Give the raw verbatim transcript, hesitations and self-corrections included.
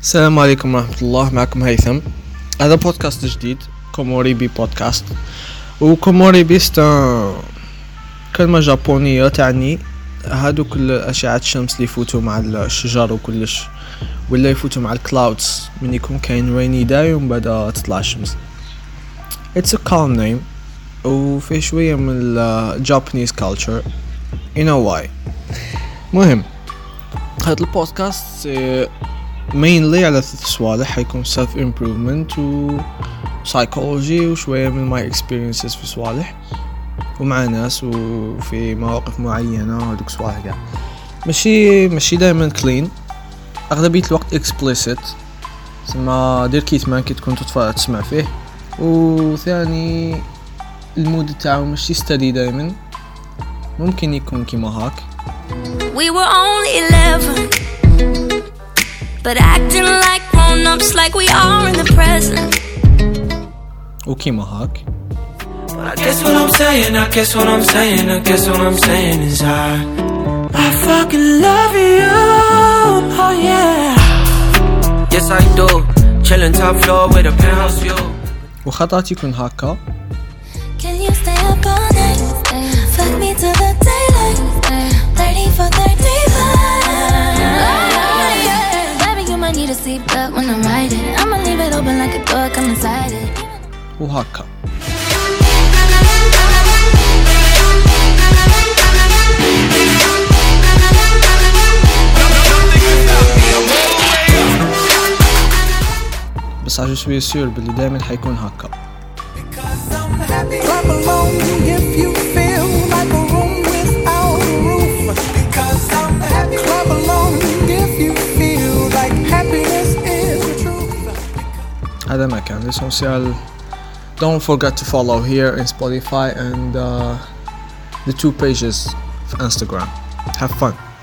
السلام عليكم ورحمة الله. معكم هيثم. هذا بودكاست جديد كوموري بي بودكاست. وكوموري بي ستان كلمة جابونية تعني هادو كل أشعة الشمس اللي يفوتوا مع الشجر وكلش، ولا يفوتوا مع الكلاودز من يكون كاين ريني داي ومن بعد تطلع الشمس. It's a calm name وفيه شوية من ال Japanese culture. You know why. مهم هذا البودكاست mainly على ثلاث صوالح، حيكون self improvement و psychology وشوية من my experiences في صوالح ومع ناس وفي مواقف معينة. هذوك صوالح قاع ماشي ماشي دائما clean، أغلبية الوقت explicit، ثم دير كيتمان كي تكون تتفرج تسمع فيه. وثاني المود تاعو ماشي steady دائما، ممكن يكون كيما هاك. We were only eleven, but acting like grown-ups like we are in the present. وكيما هاك. I guess what I'm saying, I guess what I'm saying, I guess what I'm saying is I I fucking love you, oh yeah. Yes I do, chillin' top floor with a penthouse view. وخطات يكون هاكا. Can you stay up all night? Fuck me to the daylight. thirty for thirty-five. Baby, you might need a seatbelt when I'm riding. I'ma leave it open like a door, come inside it. وهاكا. بس عجو شوية سيور باللي دائما حيكون هاكا. Clap along if you feel like a room without a roof. Because I'm happy. Clap along if you feel like happiness is the truth. هذا ما كان l'essentiel. Don't forget to follow here in Spotify and uh, the two pages of Instagram. Have fun.